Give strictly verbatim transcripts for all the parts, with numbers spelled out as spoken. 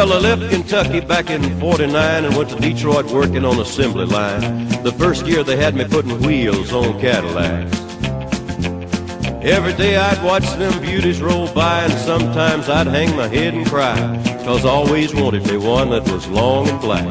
Well, I left Kentucky back in forty-nine and went to Detroit working on assembly line. The first year they had me putting wheels on Cadillacs. Every day I'd watch them beauties roll by, and sometimes I'd hang my head and cry, 'cause I always wanted me one that was long and black.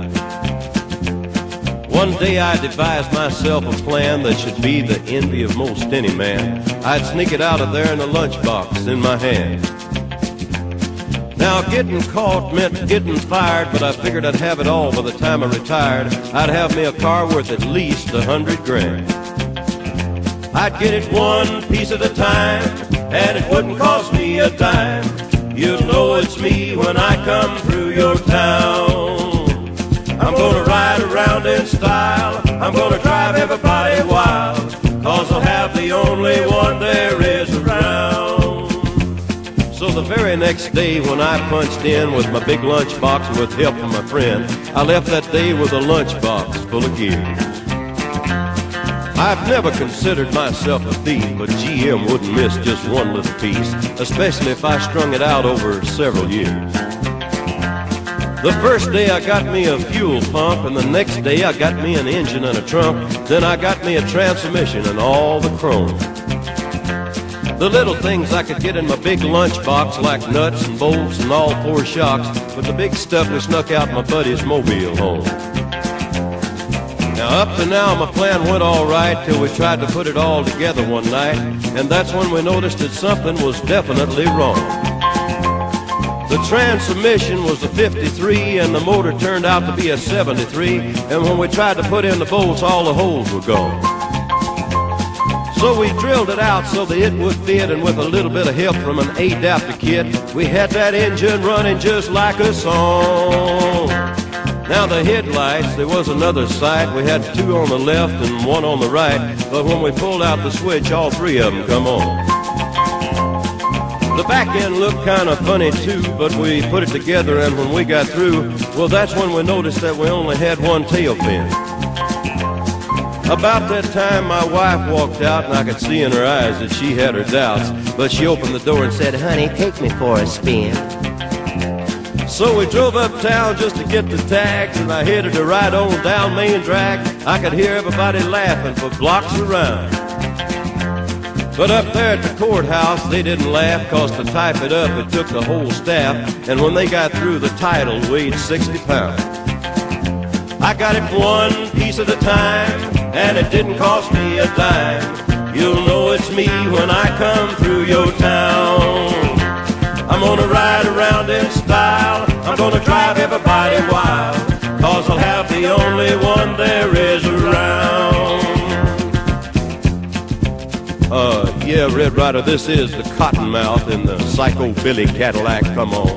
One day I devised myself a plan that should be the envy of most any man. I'd sneak it out of there in a lunchbox in my hand. Now getting caught meant getting fired, but I figured I'd have it all by the time I retired. I'd have me a car worth at least a hundred grand. I'd get it one piece at a time, and it wouldn't cost me a dime. You'll know it's me when I come through your town. I'm gonna ride around in style, I'm gonna drive everybody wild, 'cause I'll have the only one there is around. So the very next day when I punched in with my big lunchbox and with help from my friend, I left that day with a lunchbox full of gear. I've never considered myself a thief, but G M wouldn't miss just one little piece, especially if I strung it out over several years. The first day I got me a fuel pump, and the next day I got me an engine and a trunk. Then I got me a transmission and all the chrome. The little things I could get in my big lunchbox, like nuts and bolts and all four shocks, but the big stuff we snuck out my buddy's mobile home. Now up to now my plan went all right till we tried to put it all together one night, and that's when we noticed that something was definitely wrong. The transmission was a fifty-three and the motor turned out to be a seventy-three, and when we tried to put in the bolts, all the holes were gone. So we drilled it out so that it would fit, and with a little bit of help from an adapter kit, we had that engine running just like a song. Now the headlights, there was another sight. We had two on the left and one on the right, but when we pulled out the switch, all three of them come on. The back end looked kind of funny too, but we put it together, and when we got through, well, that's when we noticed that we only had one tail fin. About that time my wife walked out, and I could see in her eyes that she had her doubts, but she opened the door and said, "Honey, take me for a spin." So we drove uptown just to get the tags, and I headed to ride on down Main Drag. I could hear everybody laughing for blocks around. But up there at the courthouse, they didn't laugh, 'cause to type it up, it took the whole staff, and when they got through, the title weighed sixty pounds. I got it one piece at a time, and it didn't cost me a dime. You'll know it's me when I come through your town. I'm gonna ride around in style, I'm gonna drive everybody wild, 'cause I'll have the only one there is around. Uh, yeah, Red Ryder, this is the Cottonmouth in the Psycho Billy Cadillac, come on.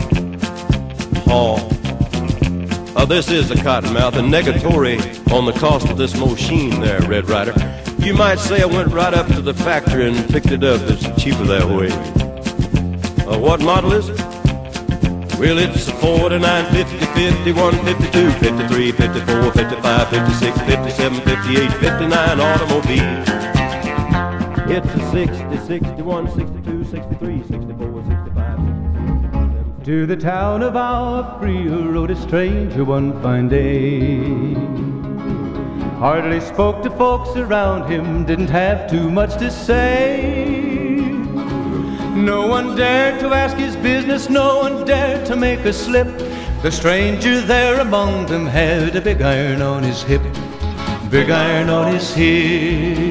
Oh. Uh, this is the Cottonmouth, and negatory on the cost of this machine there, Red Ryder. You might say I went right up to the factory and picked it up. It's cheaper that way. Uh, what model is it? Well, it's a forty-nine, fifty, fifty-one, fifty-two, fifty-three, fifty-four, fifty-five, fifty-six, fifty-seven, fifty-eight, fifty-nine automobile. It's a sixty, sixty-one, sixty-two, sixty-three, sixty-four, sixty-five, sixty-six. To the town of our free rode a stranger one fine day. Hardly spoke to folks around him, didn't have too much to say. No one dared to ask his business, no one dared to make a slip. The stranger there among them had a big iron on his hip, big iron on his hip.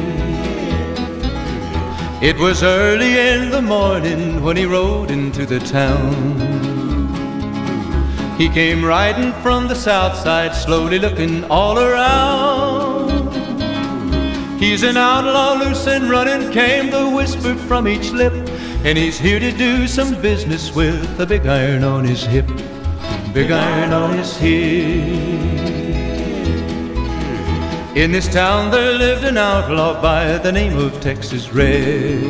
It was early in the morning when he rode into the town. He came riding from the south side, slowly looking all around. He's an outlaw, loose and running, came the whisper from each lip, and he's here to do some business with a big iron on his hip, big iron on his hip. In this town there lived an outlaw by the name of Texas Red.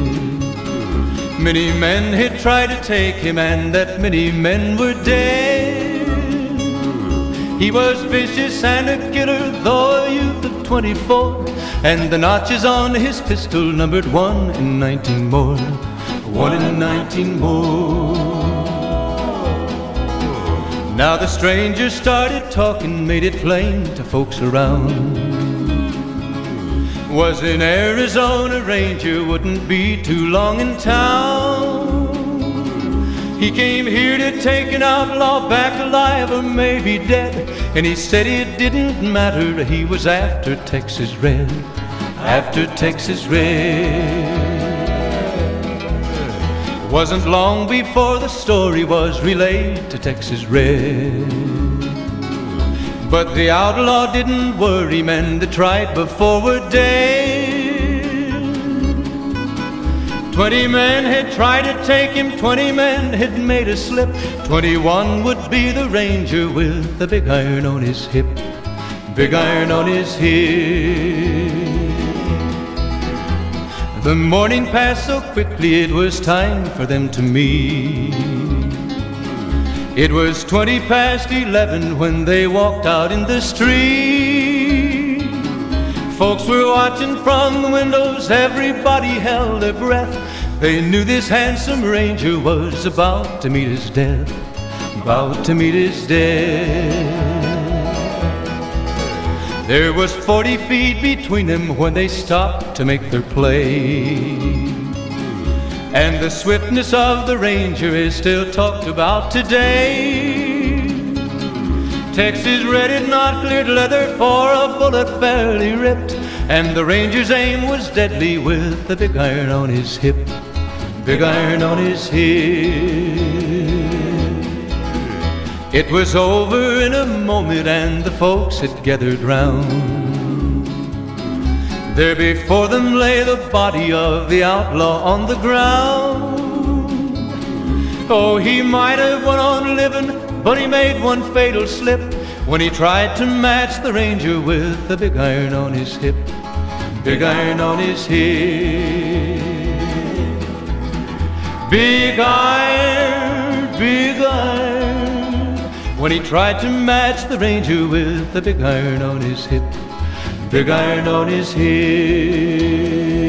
Many men had tried to take him, and that many men were dead. He was vicious and a killer, though a youth of twenty-four, and the notches on his pistol numbered one in nineteen more, one in nineteen more. Now the stranger started talking, made it plain to folks around. Was in Arizona, ranger, wouldn't be too long in town. He came here to take an outlaw back alive or maybe dead, and he said it didn't matter, he was after Texas Red, after Texas Red. Wasn't long before the story was relayed to Texas Red. But the outlaw didn't worry, men that tried before were dead. Twenty men had tried to take him, twenty men had made a slip. Twenty-one would be the ranger with the big iron on his hip, big iron on his hip. The morning passed so quickly, it was time for them to meet. It was twenty past eleven when they walked out in the street. Folks were watching from the windows, everybody held their breath. They knew this handsome ranger was about to meet his death, about to meet his death. There was forty feet between them when they stopped to make their play. And the swiftness of the ranger is still talked about today. Texas Red had not cleared leather for a bullet fairly ripped, and the ranger's aim was deadly with the big iron on his hip, big iron on his hip. It was over in a moment and the folks had gathered round. There before them lay the body of the outlaw on the ground. Oh, he might have went on living, but he made one fatal slip when he tried to match the ranger with the big iron on his hip, big iron on his hip. Big iron, big iron, when he tried to match the ranger with the big iron on his hip, big iron on his hip.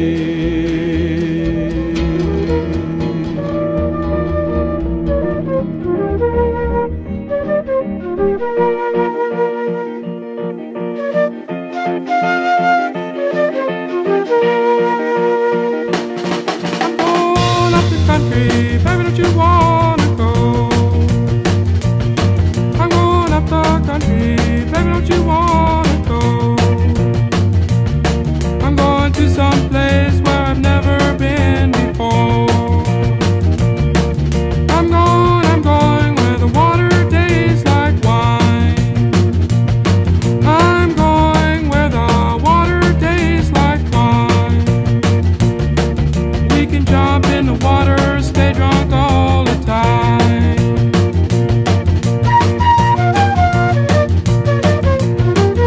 I'm going up the country, baby, don't you wanna go? I'm going up the country, baby, don't you wanna go? I'm going to some place where I've never been before. I'm going, I'm going where the water tastes like wine. I'm going where the water tastes like wine. We can jump in the water, stay drunk all the time.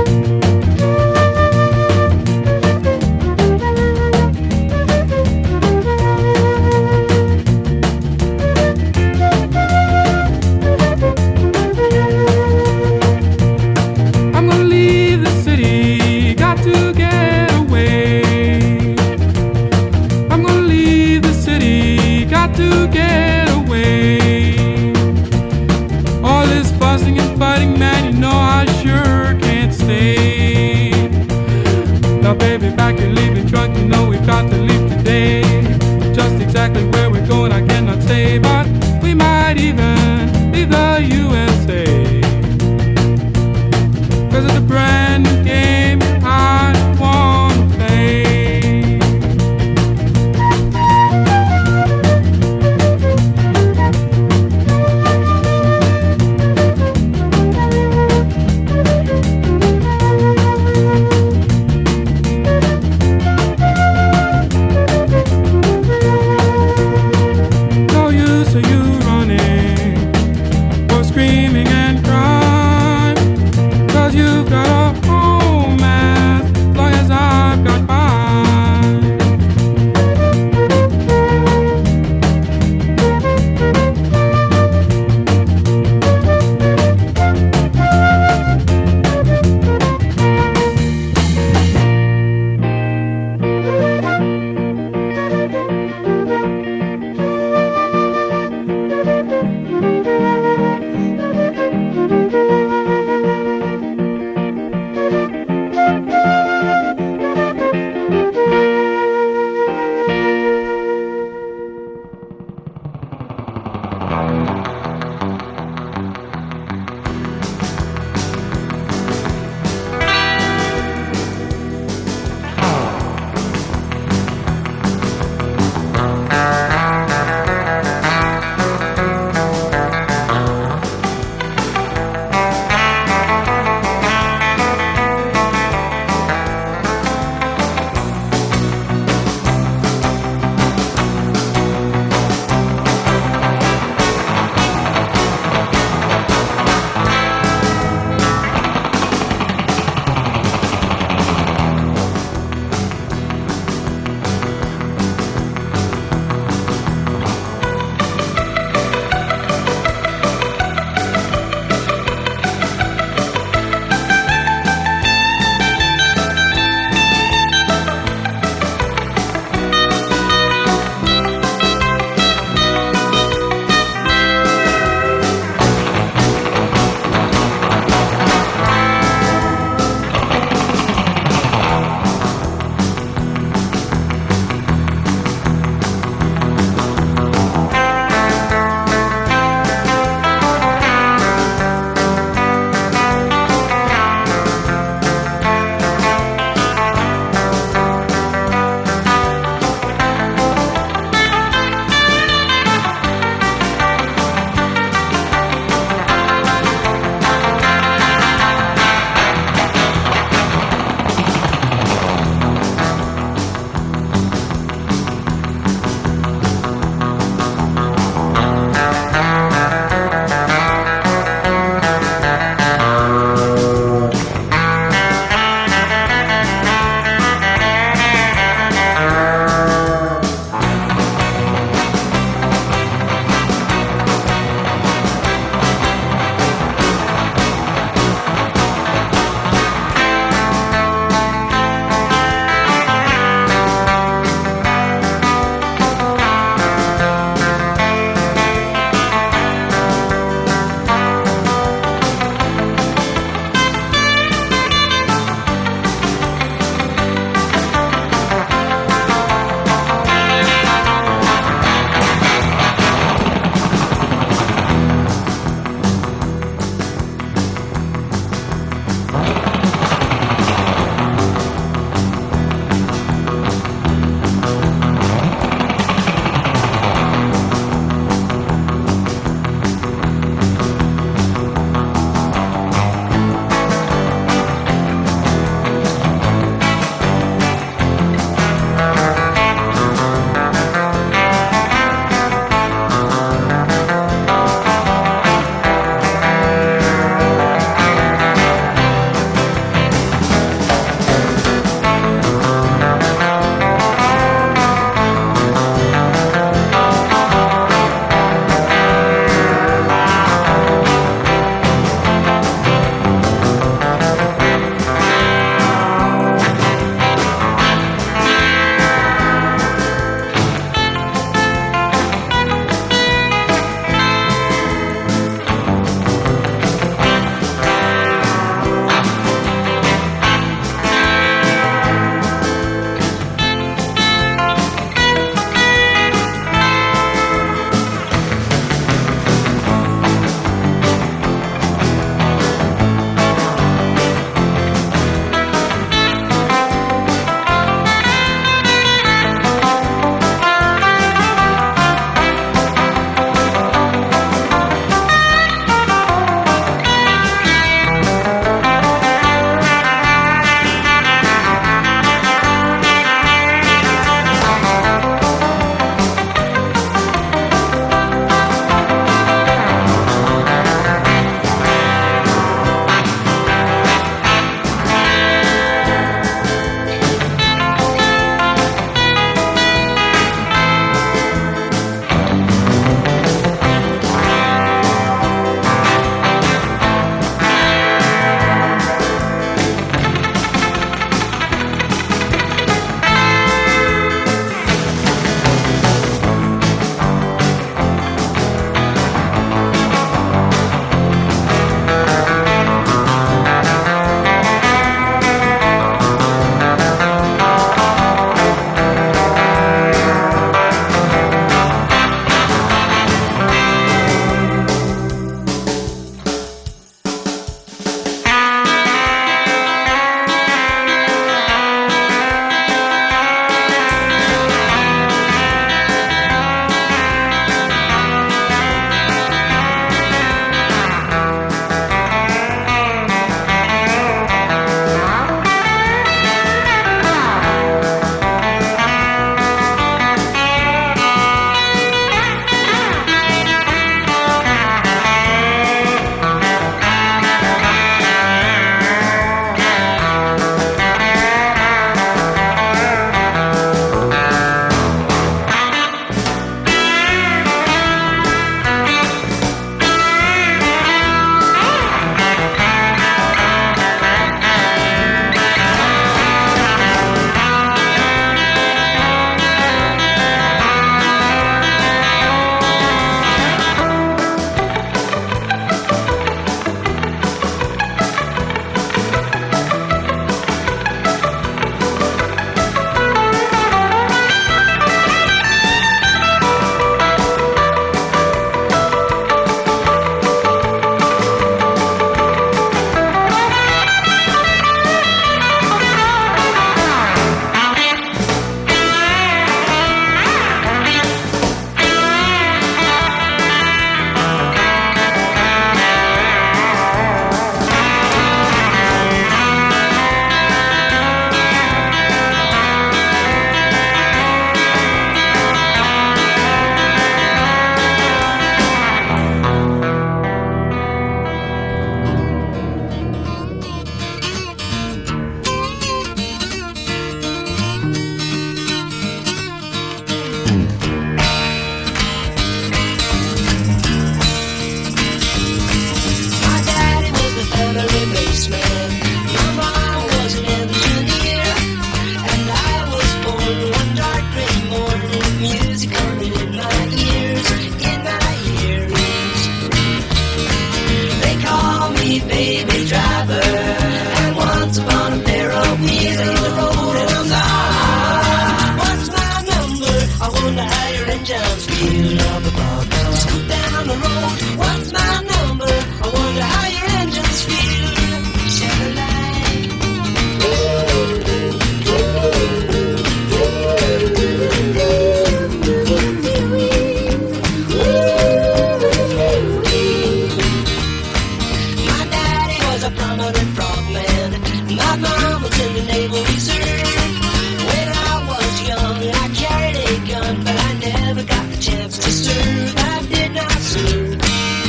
a prominent frogman. My mom was in the Naval Reserve. When I was young, I carried a gun, but I never got the chance to serve. I did not serve.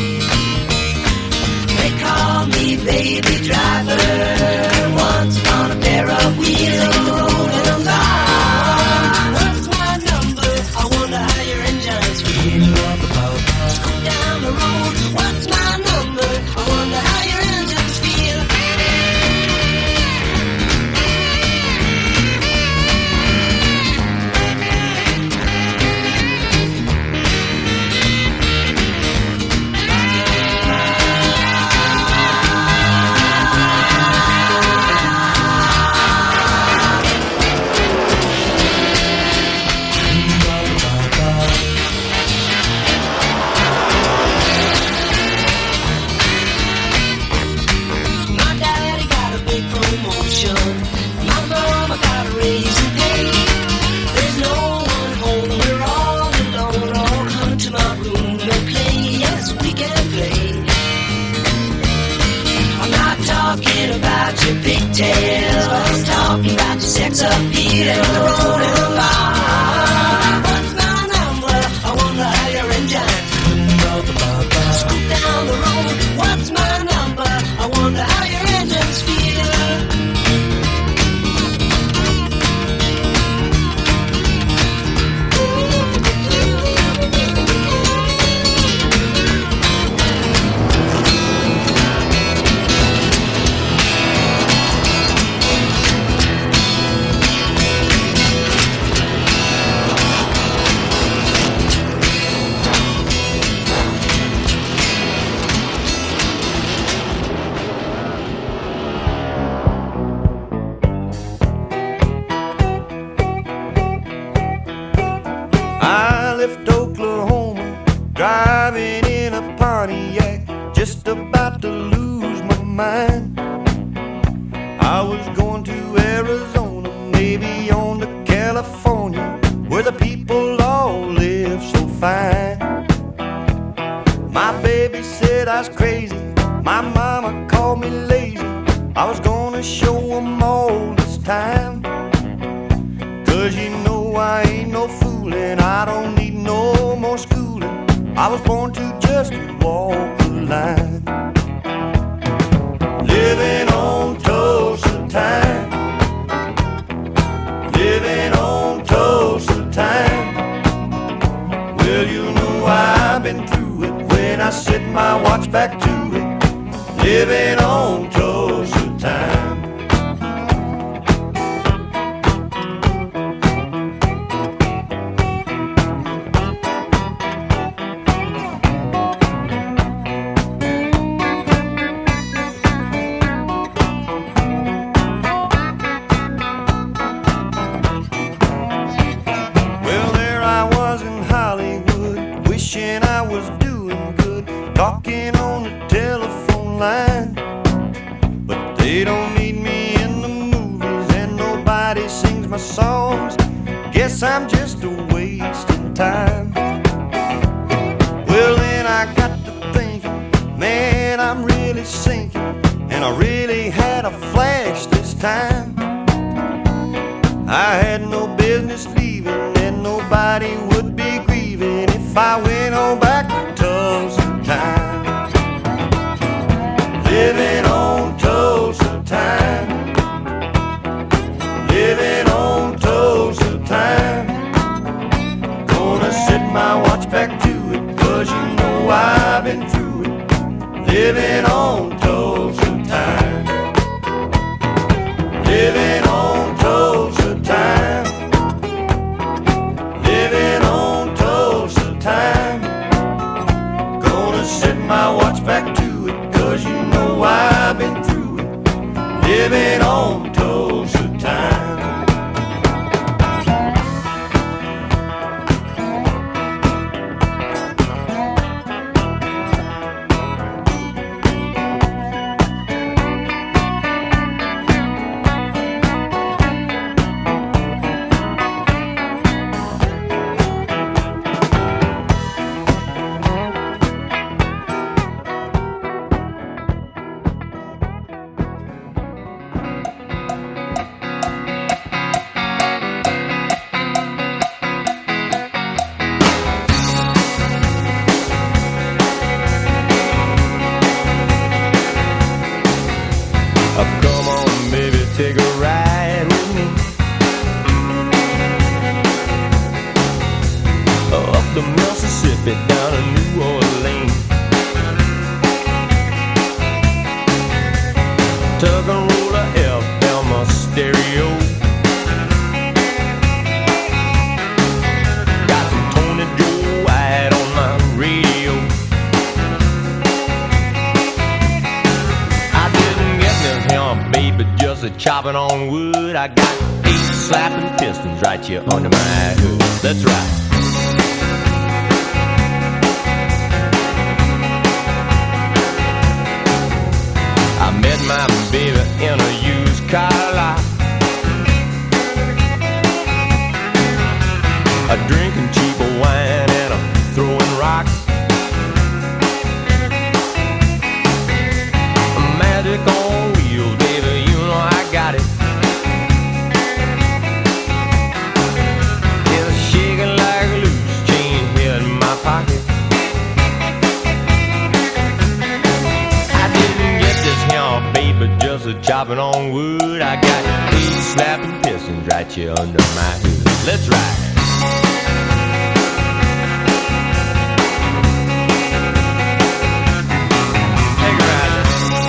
They call me baby driver. Once on a pair of wheels on the road and I'm gone. What's my number? I wonder how your engines feel. Scoot down the road. What's my number? I wonder how your engines feel. Pigtails, I'm talking about your sex appeal and the road and the bar. What's my number? I wonder how your engines scoot down the road. What's my number? I wonder how your engines feel. I left Oklahoma, driving in a Pontiac, just about to lose my mind. I was going to Arizona, maybe on to California, where the people all live so fine. My baby said I was crazy, my mama called me lazy. I was gonna show them all this time. Cause you know I ain't no fooling, I don't need no more schooling. I was born to just walk the line. Living on Tulsa time, living on Tulsa time. Well, you know I've been through it when I set my watch back to it. Living on Tulsa time. I was doing good, talking on the telephone line. But they don't need me in the movies, and nobody sings my songs. Guess I'm just a wasting time. Well, then I got to thinking, man, I'm really sinking, and I really had a flash this time. I had no business leaving, and nobody would be grieving if I went on back to Tulsa time. Living on Tulsa time, living on Tulsa time. Gonna set my watch back to it, cause you know I've been through it. Living on Tulsa time, living on Tulsa time. take a ride with me? Up the Mississippi down to New Orleans. Tuck and roll a F M a stereo. Got some Tony Joe White on my radio. I didn't get this here, baby, just a chopping on wood. I got eight slapping pistons right here under my hood. That's right. I met my baby in a used car lot. A drinking cheap wine and a throwing rocks. A magic on wheels, baby, you know I got it. It's shaking like a loose chain here in my pocket. Baby, just a chopping on wood. I got eight slapping pistons right here under my hood. Let's ride. Take a ride.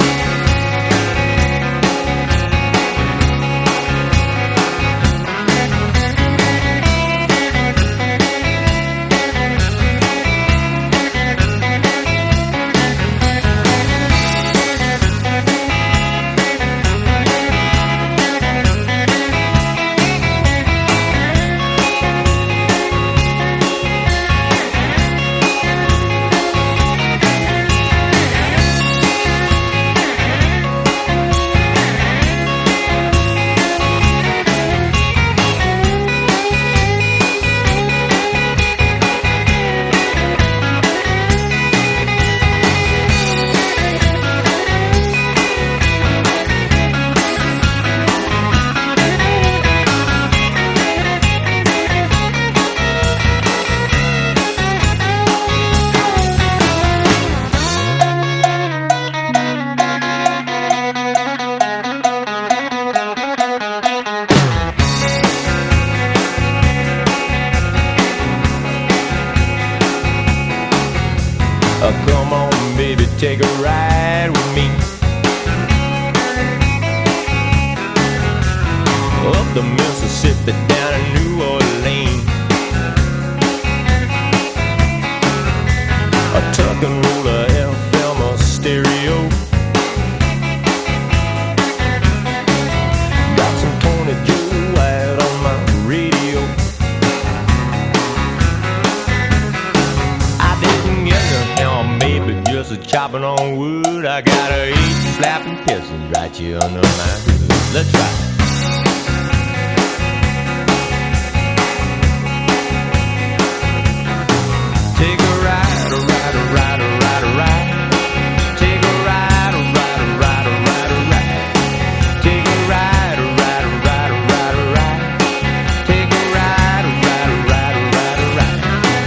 Take a ride with me up the Mississippi down to New Orleans. A tuck and roll a F M a stereo. Got some Tony Joe White on my radio. I didn't get no help, baby, just a chopping on wood. I got a eight slapping pistons right here under my hood. Let's ride. Take a ride, a ride, a ride, a ride, a ride. Take a ride, a ride, a ride, a ride, a ride. Take a ride, a ride, a ride, a ride, a ride. Take a ride, a ride, a ride, a ride, a ride.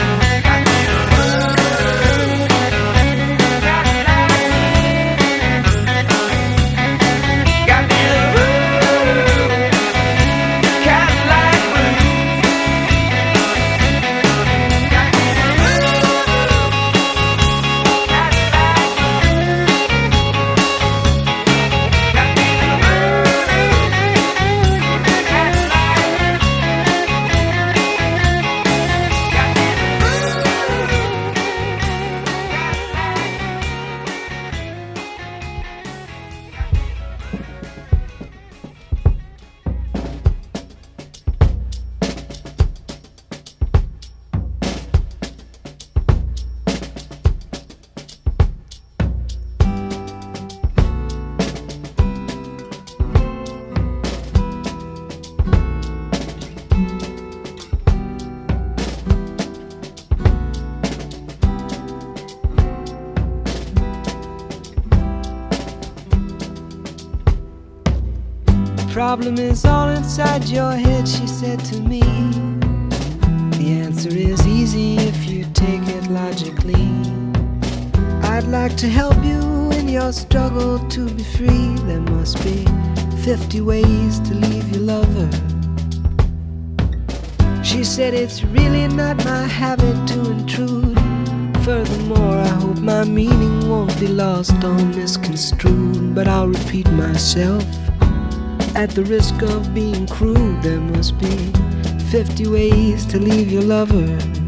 problem is all inside your head, she said to me. The answer is easy if you take it logically. I'd like to help you in your struggle to be free. There must be fifty ways to leave your lover. She said it's really not my habit to intrude. Furthermore, I hope my meaning won't be lost or misconstrued. But I'll repeat myself at the risk of being crude. There must be fifty ways to leave your lover.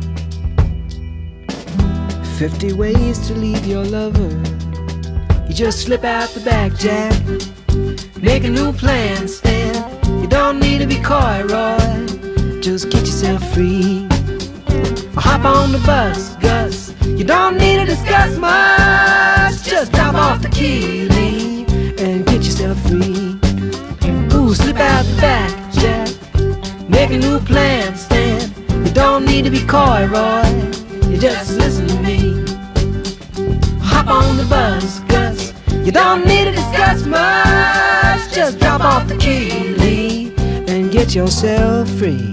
Fifty ways to leave your lover. You just slip out the back, Jack. Make a new plan, Stan. You don't need to be coy, Roy. Just get yourself free. Hop on the bus, Gus. You don't need to discuss much. Just drop off the key, Lee, and get yourself free. Ooh, slip out the back, Jack. Make a new plan, Stan. You don't need to be coy, Roy. You just listen to me. Hop on the bus, Gus. You don't need to discuss much. Just drop off the key, Lee, and get yourself free.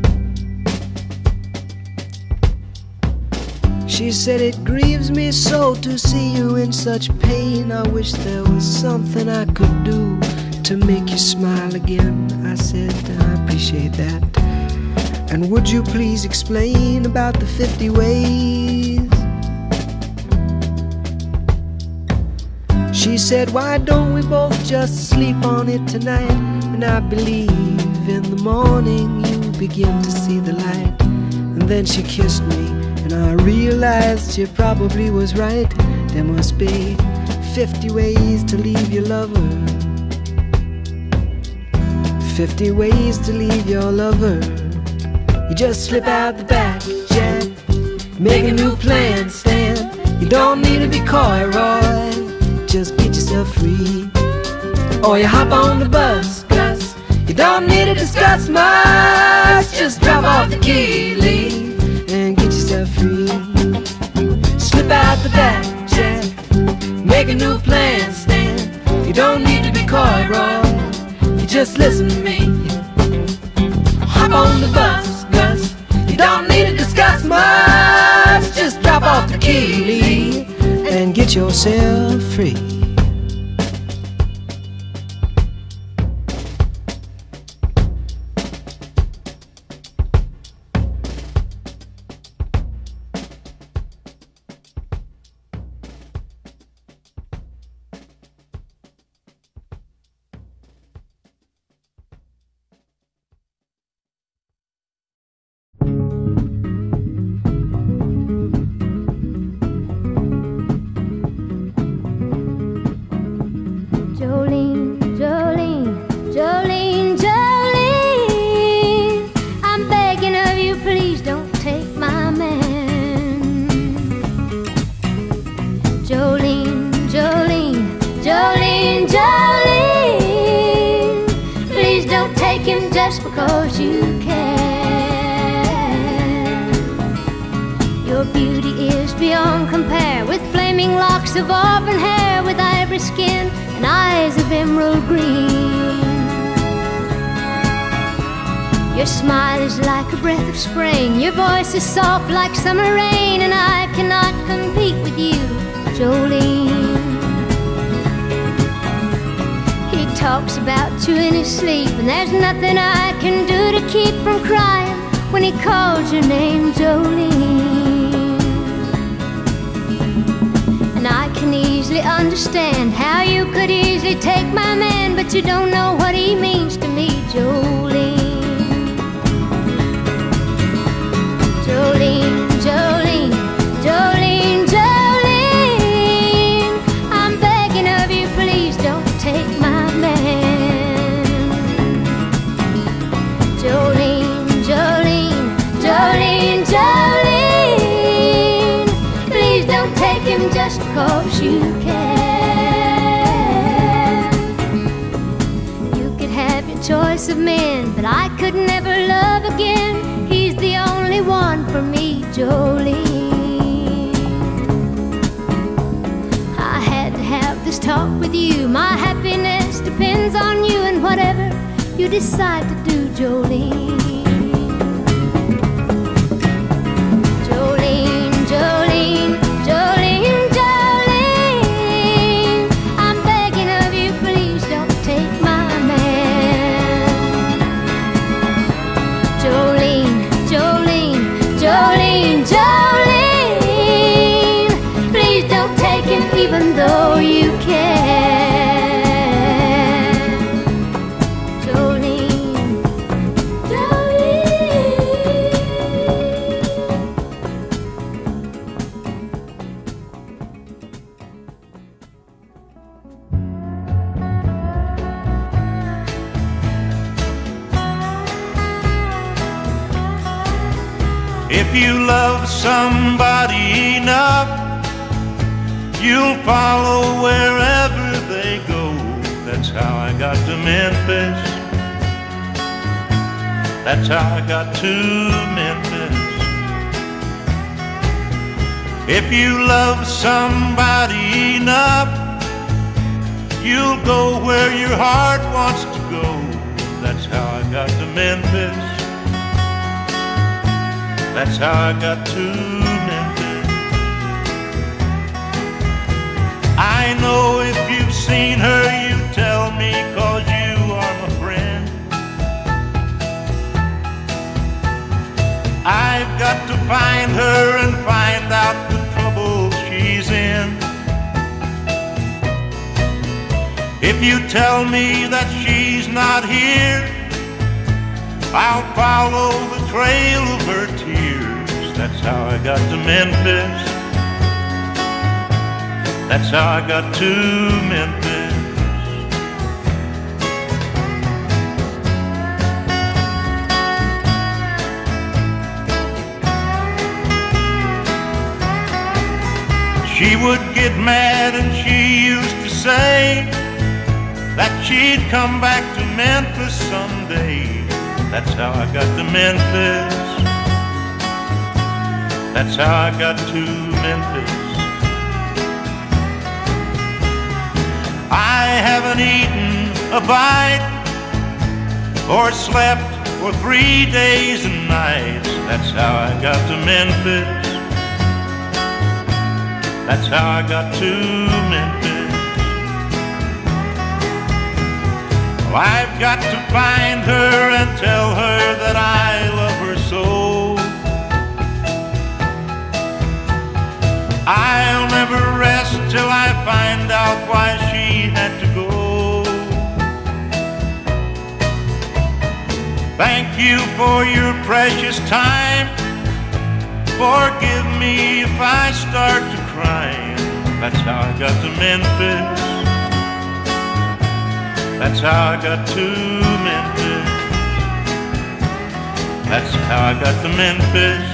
She said it grieves me so to see you in such pain. I wish there was something I could do to make you smile again. I said I appreciate that. And would you please explain about the fifty ways? She said, why don't we both just sleep on it tonight? And I believe in the morning you begin to see the light. And then she kissed me, and I realized she probably was right. There must be fifty ways to leave your lover. Fifty ways to leave your lover. You just slip out the back, Jack. Make a new plan, Stan. You don't need to be coy, Roy. Just get yourself free. Or you hop on the bus, Gus. You don't need to discuss much. Just drop off the key, Lee, and get yourself free. Slip out the back, Jack. Make a new plan, Stan. You don't need to be coy, Roy. You just listen to me. Hop on the bus, Gus. You don't need to discuss much. Just drop off the key, Lee, and get yourself free. Because you can. Your beauty is beyond compare, with flaming locks of auburn hair, with ivory skin and eyes of emerald green. Your smile is like a breath of spring, your voice is soft like summer rain, and I cannot compete with you, Jolene. He talks about you in his sleep, and there's nothing I can do to keep from crying when he calls your name, Jolene. And I can easily understand how you could easily take my man, but you don't know what he means to me, Jolene. Jolene, Jolene, Jolene, Jolene, I'm begging of you, please don't take my man. Jolene, Jolene, Jolene, Jolene, please don't take him just because you can. You could have your choice of men, but I could never love again. He's the only one for me, Jolene. I had to have this talk with you. My happiness depends on you, and whatever you decide to do, Jolene. Jolene, Jolene, Jolene, Jolene, I'm begging of you, please don't take my man. If you love somebody enough, you'll follow wherever they go. That's how I got to Memphis. That's how I got to Memphis. If you love somebody enough, you'll go where your heart wants to go. That's how I got to Memphis. That's how I got to Memphis. I know if you've seen her, you tell me, 'cause you are my friend. I've got to find her and find out the trouble she's in. If you tell me that she's not here, I'll follow the trail of her tears. That's how I got to Memphis. That's how I got to Memphis. She would get mad and she used to say that she'd come back to Memphis someday. That's how I got to Memphis. That's how I got to Memphis. I haven't eaten a bite or slept for three days and nights. That's how I got to Memphis. That's how I got to Memphis. Well, I've got to find her and tell her that I love her so. I'll never rest till I find out why she had to go. Thank you for your precious time. Forgive me if I start to cry. That's how I got to Memphis. That's how I got to Memphis. That's how I got to Memphis.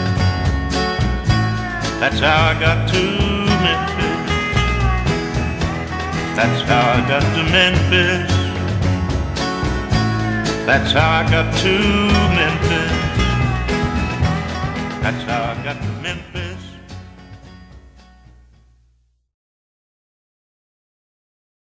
That's how I got to Memphis. That's how I got to Memphis. That's how I got to Memphis. That's how I got to Memphis.